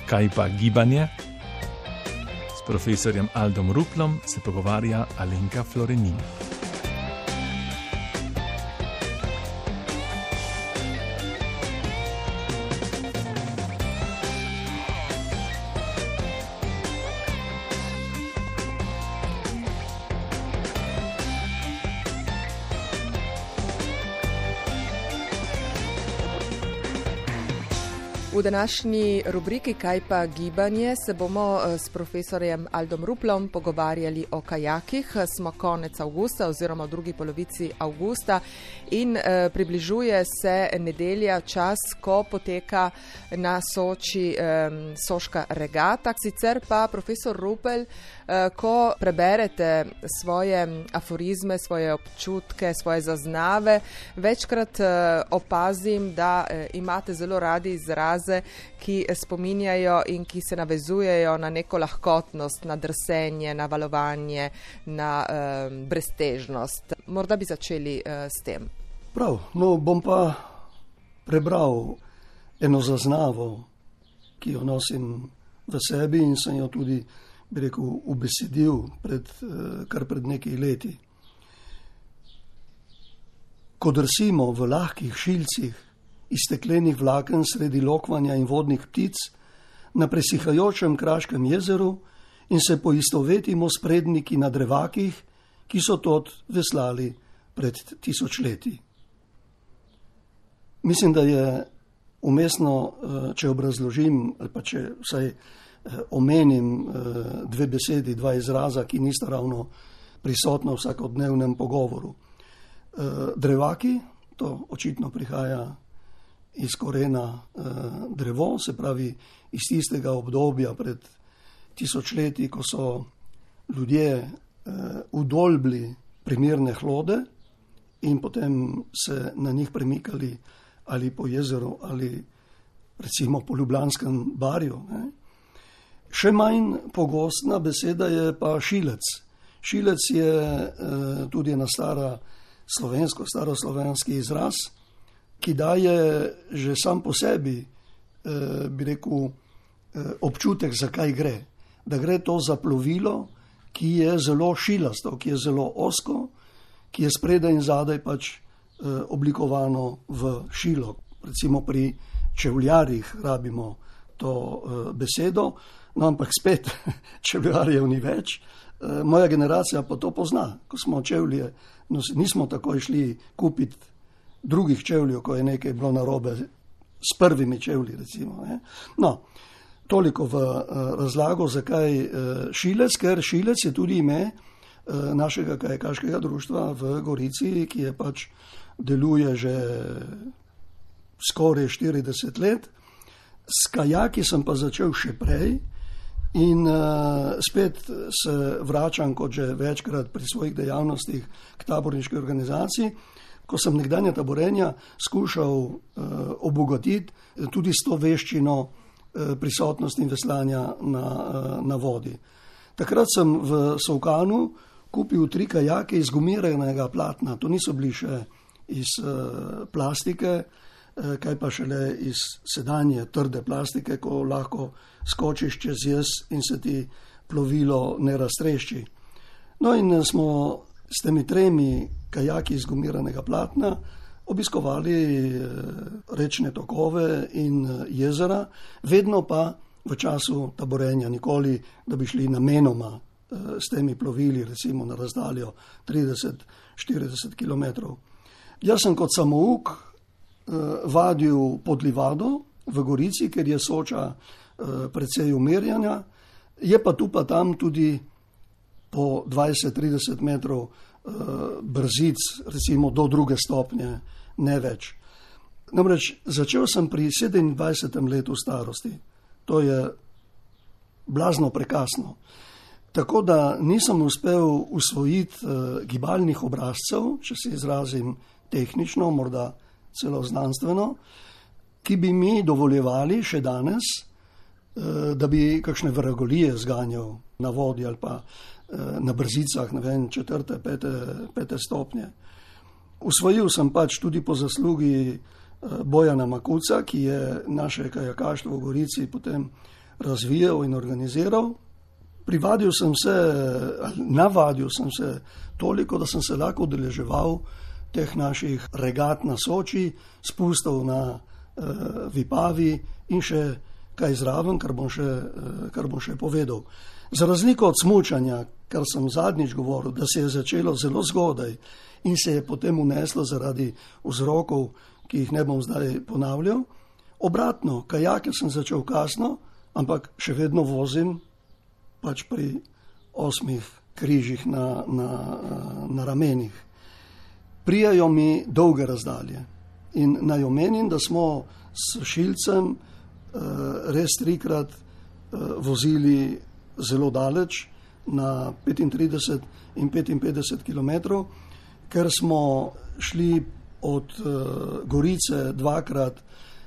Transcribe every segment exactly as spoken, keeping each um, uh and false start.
kaj pa gibanje? S profesorjem Aldom Ruplom se pogovarja Alenka Florenin. V današnji rubriki Kaj pa gibanje se bomo s profesorjem Aldom Ruplom pogovarjali o kajakih. Smo konec avgusta oziroma v drugi polovici avgusta in eh, približuje se nedelja, čas, ko poteka na Soči eh, soška regata. Sicer pa profesor Rupel, eh, ko preberete svoje aforizme, svoje občutke, svoje zaznave, večkrat eh, opazim, da eh, imate zelo radi izraze, ki spominjajo in ki se navezujejo na neko lahkotnost, na drsenje, na valovanje, na uh, breztežnost. Morda bi začeli uh, s tem. Prav, no bom pa prebral eno zaznavo, ki jo nosim v sebi in sem jo tudi, bi rekel, ubesedil pred, uh, kar pred nekaj leti. Ko drsimo v lahkih šilcih iz steklenih vlaken sredi lokvanja in vodnih ptic na presihajočem Kraškem jezeru in se poistovetimo s predniki na drevakih, ki so tod veslali pred tisočletji. Mislim, da je umestno, če obrazložim ali pa če vsaj omenim dve besedi, dva izraza, ki nista ravno prisotna v vsakodnevnem pogovoru. Drevaki, to očitno prihaja iz korena eh, drevo, se pravi iz tistega obdobja pred tisočletji, ko so ljudje eh, udolbli primerne hlode in potem se na njih premikali ali po jezeru ali recimo po Ljubljanskem barju. Ne. Še manj pogostna beseda je pa šilec. Šilec je eh, tudi ena stara slovensko, staroslovenski izraz, ki daje že sam po sebi, eh, bi rekel, eh, občutek, zakaj gre. Da gre to za plovilo, ki je zelo šilasto, ki je zelo ozko, ki je spredaj in zadaj pač eh, oblikovano v šilo. Recimo pri čevljarjih rabimo to eh, besedo, no ampak spet čevljarjev ni več. Eh, moja generacija pa to pozna. Ko smo čevlje, no, nismo takoj šli kupiti drugih čevljev, ko je nekaj bilo narobe s prvimi čevlji, recimo. Ne? No, toliko v uh, razlago, zakaj uh, šilec, ker šilec je tudi ime uh, našega kajakaškega društva v Gorici, ki je pač deluje že skoraj štirideset let. S kajaki sem pa začel še prej in uh, spet se vračam, kot že večkrat pri svojih dejavnostih, k taborniški organizaciji, ko sem nekdanja taborenja skušal uh, obogatiti tudi s to veščino uh, prisotnosti in veslanja na, uh, na vodi. Takrat sem v Solkanu kupil tri kajake iz gumiranega platna. To niso bili še iz uh, plastike, uh, kaj pa šele iz sedanje trde plastike, ko lahko skočiš čez jez in se ti plovilo ne raztrešči. No in uh, smo s temi tremi kajaki iz gumiranega platna obiskovali rečne tokove in jezera, vedno pa v času taborenja, nikoli, da bi šli namenoma s temi plovili, recimo na razdaljo trideset do štirideset kilometrov. Jaz sem kot samouk vadil pod livado v Gorici, ker je Soča precej umirjanja, je pa tu pa tam tudi po dvajset do trideset metrov uh, brzic, recimo do druge stopnje, ne več. Namreč začel sem pri sedemindvajsetem letu starosti. To je blazno prekasno. Tako da nisem uspel usvojiti uh, gibalnih obrazcev, če se izrazim tehnično, morda celo znanstveno, ki bi mi dovoljevali še danes, uh, da bi kakšne vragolije zganjal na vodi ali pa na brzicah, ne vem, četrte, pete, pete stopnje. Usvojil sem pač tudi po zaslugi Bojana Makuca, ki je naše kajakaštvo v Gorici potem razvijal in organiziral. Privadil sem se, navadil sem se toliko, da sem se lahko udeleževal teh naših regat na Soči, spustov na uh, Vipavi in še kaj zraven, kar bom še, uh, kar bom še povedal. Za razliko od smučanja, kar sem zadnjič govoril, da se je začelo zelo zgodaj in se je potem uneslo zaradi vzrokov, ki jih ne bom zdaj ponavljal. Obratno, kajake sem začel kasno, ampak še vedno vozim pač pri osmih križih na, na, na ramenih. Prijajo mi dolge razdalje in naj omenim, da smo s Šilcem uh, res trikrat uh, vozili zelo daleč, na petintrideset in petinpetdeset kilometrov, ker smo šli od uh, Gorice dvakrat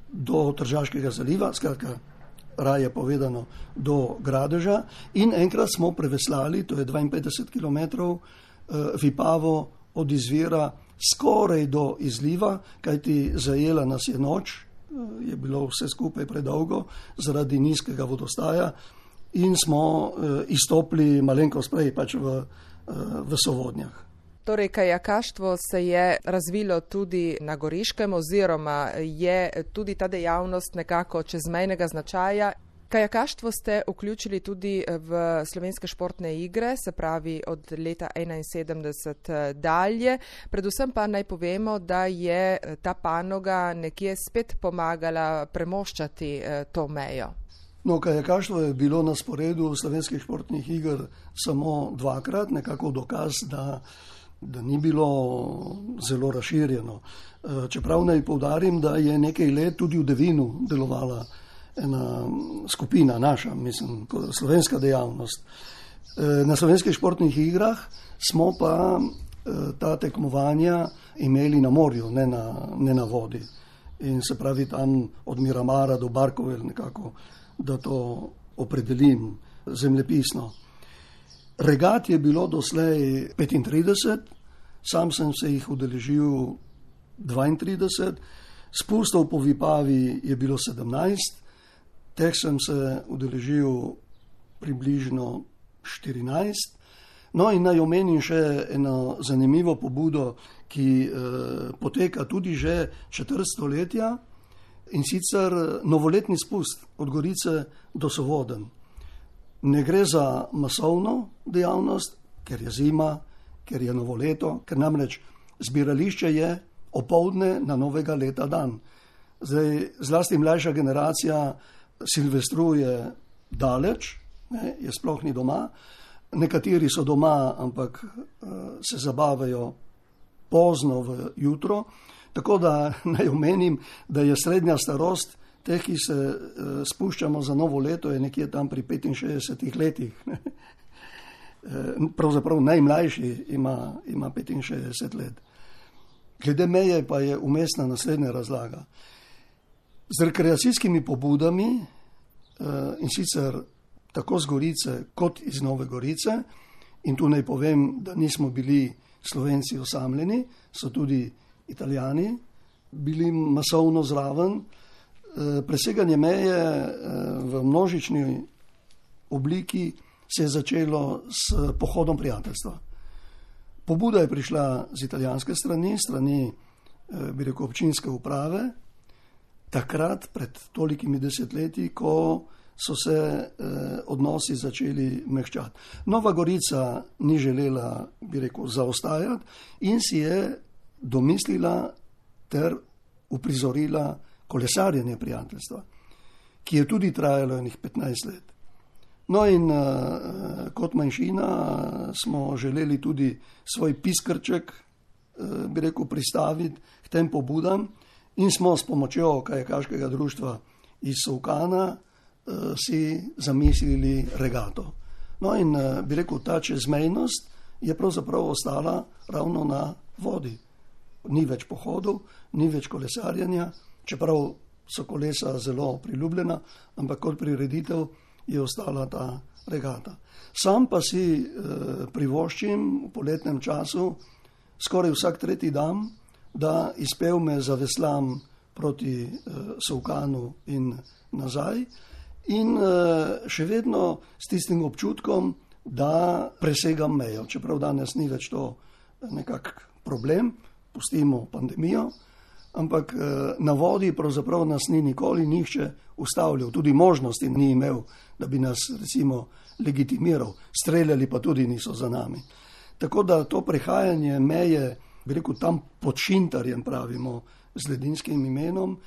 do Tržaškega zaliva, skratka, raje povedano, do Gradeža, in enkrat smo preveslali, to je dvainpetdeset kilometrov, uh, Vipavo od izvira skoraj do izliva, kajti zajela nas je noč, uh, je bilo vse skupaj predolgo zaradi nizkega vodostaja in smo uh, izstopili malenkost prej pač v, uh, v Sovodnjah. Torej, kajakaštvo se je razvilo tudi na Goriškem oziroma je tudi ta dejavnost nekako čezmejnega značaja. Kajakaštvo ste vključili tudi v slovenske športne igre, se pravi od leta enainsedemdeset dalje. Predvsem pa naj povemo, da je ta panoga nekje spet pomagala premoščati to mejo. No, kajakaštvo je bilo na sporedu slovenskih športnih iger samo dvakrat, nekako dokaz, da da ni bilo zelo razširjeno. Čeprav naj poudarim, da je nekaj let tudi v Devinu delovala ena skupina naša, mislim, slovenska dejavnost. Na slovenskih športnih igrah smo pa ta tekmovanja imeli na morju, ne na, ne na vodi. In se pravi tam od Miramara do Barkovel nekako, da to opredelim zemljepisno. Regat je bilo doslej petintrideset, sam sem se jih udeležil dvaintrideset, spustov po Vipavi je bilo sedemnajst, teh sem se udeležil približno štirinajst. No in naj omenim še eno zanimivo pobudo, ki eh, poteka tudi že četrt stoletja, in sicer novoletni spust od Gorice do Sovodenj. Ne gre za masovno dejavnost, ker je zima, ker je novo leto, ker namreč zbirališče je opoldne na novega leta dan. Zdaj, zlasti mlajša generacija silvestruje daleč, ne, je sploh ni doma. Nekateri so doma, ampak uh, se zabavajo pozno v jutro. Tako da naj omenim, da je srednja starost teh, ki se uh, spuščamo za novo leto, je nekje tam pri petinšestdesetih letih. Pravzaprav najmlajši ima, ima petinšestdeset let. Glede meje pa je umestna naslednja razlaga. Z rekreacijskimi pobudami uh, in sicer tako z Gorice kot iz Nove Gorice, in tu naj povem, da nismo bili Slovenci osamljeni, so tudi Italijani bili masovno zraven. Preseganje meje v množični obliki se je začelo s pohodom prijateljstva. Pobuda je prišla z italijanske strani, strani, bi rekel, občinske uprave, takrat pred tolikimi desetletji, ko so se odnosi začeli mehčati. Nova Gorica ni želela, bi rekel, zaostajati in si je domislila ter uprizorila kolesarjenje prijateljstva, ki je tudi trajalo enih petnajst let. No in uh, kot manjšina smo želeli tudi svoj piskrček, uh, bi rekel, pristaviti k tem pobudam in smo s pomočjo kajakaškega društva iz Solkana uh, si zamislili regato. No in uh, bi rekel, ta čezmejnost je pravzaprav ostala ravno na vodi. Ni več pohodov, ni več kolesarjenja, čeprav so kolesa zelo priljubljena, ampak kot prireditev je ostala ta regata. Sam pa si eh, privoščim v poletnem času skoraj vsak tretji dan, da izpev me zaveslam proti eh, Solkanu in nazaj in še vedno s tistim občutkom, da presegam mejo, čeprav danes ni več to nekak problem, pustimo pandemijo, ampak na vodi pravzaprav nas ni nikoli nihče ustavljal, tudi možnosti ni imel, da bi nas recimo legitimiral, streljali pa tudi niso za nami. Tako da to prehajanje meje, bi rekel, tam pod Šintarjem pravimo z ledinskim imenom,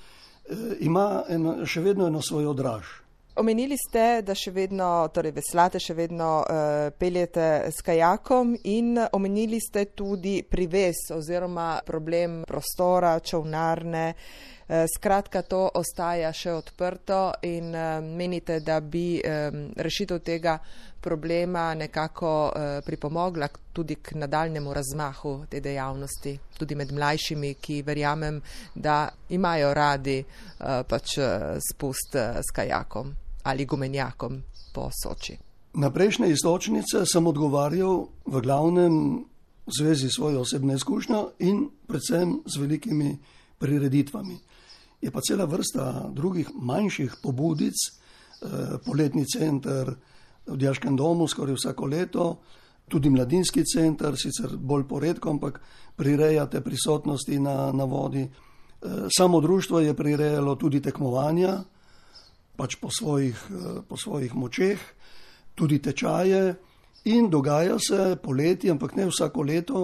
ima eno, še vedno eno svoj odraž. Omenili ste, da še vedno, torej veslate, še vedno uh, peljete s kajakom in omenili ste tudi privez oziroma problem prostora, čolnarne. Uh, skratka, to ostaja še odprto in uh, menite, da bi um, rešitev tega problema nekako uh, pripomogla tudi k nadaljnemu razmahu te dejavnosti, tudi med mlajšimi, ki verjamem, da imajo radi uh, pač uh, spust uh, s kajakom ali gumenjakom po Soči. Na prejšnje istočnice sem odgovarjal v glavnem v zvezi s svojo osebno izkušnjo in predvsem z velikimi prireditvami. Je pa cela vrsta drugih manjših pobudic, eh, poletni center v Dijaškem domu skoraj vsako leto, tudi mladinski center, sicer bolj poredko, ampak prirejate prisotnosti na, na vodi. Eh, samo društvo je prirejalo tudi tekmovanja, pač po svojih, po svojih močeh, tudi tečaje in dogaja se poleti, ampak ne vsako leto,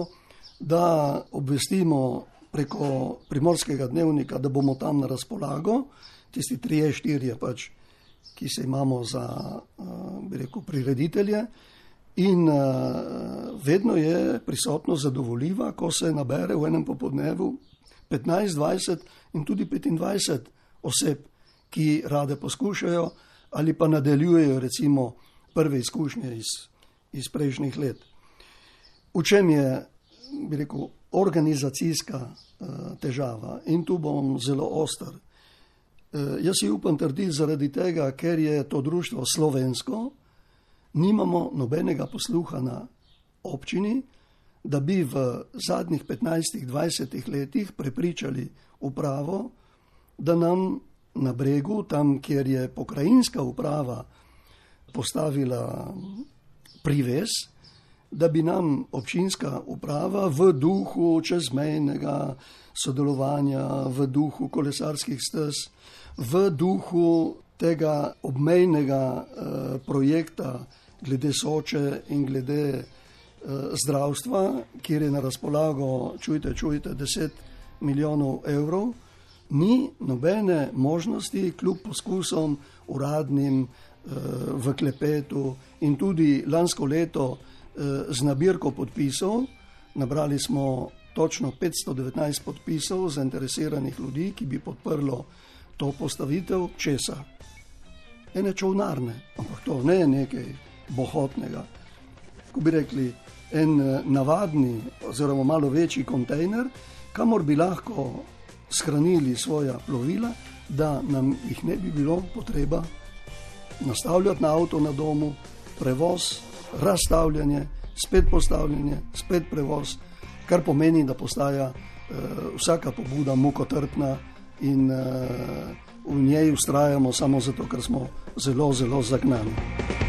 da obvestimo preko Primorskega dnevnika, da bomo tam na razpolago, tisti trije, štirje pač, ki se imamo za, bi rekel, prireditelje in vedno je prisotno zadovoljiva, ko se nabere v enem popoldnevu petnajst, dvajset in tudi petindvajset oseb, ki rade poskušajo ali pa nadaljujejo recimo prve izkušnje iz, iz prejšnjih let. V čem je, bi rekel, organizacijska uh, težava in tu bom zelo oster. Uh, jaz si upam trditi zaradi tega, ker je to društvo slovensko, nimamo nobenega posluha na občini, da bi v zadnjih petnajstih, dvajsetih letih prepričali upravo, da nam na Bregu, tam, kjer je pokrajinska uprava postavila privez, da bi nam občinska uprava v duhu čezmejnega sodelovanja, v duhu kolesarskih stez, v duhu tega obmejnega eh, projekta glede Soče in glede eh, zdravstva, kjer je na razpolago, čujte, čujte, deset milijonov evrov, ni nobene možnosti kljub poskusom uradnim eh, v klepetu in tudi lansko leto eh, z nabirko podpisov. Nabrali smo točno petsto devetnajst podpisov zainteresiranih ljudi, ki bi podprlo to postavitev česa. Ene čolnarne, ampak to ne je nekaj bohotnega. Ko bi rekli, en navadni oziroma malo večji kontejner, kamor bi lahko shranili svoja plovila, da nam jih ne bi bilo potreba nastavljati na avto na domu, prevoz, razstavljanje, spet postavljanje, spet prevoz, kar pomeni, da postaja uh, vsaka pobuda mukotrpna in uh, v njej ustrajamo samo zato, ker smo zelo, zelo zagnani.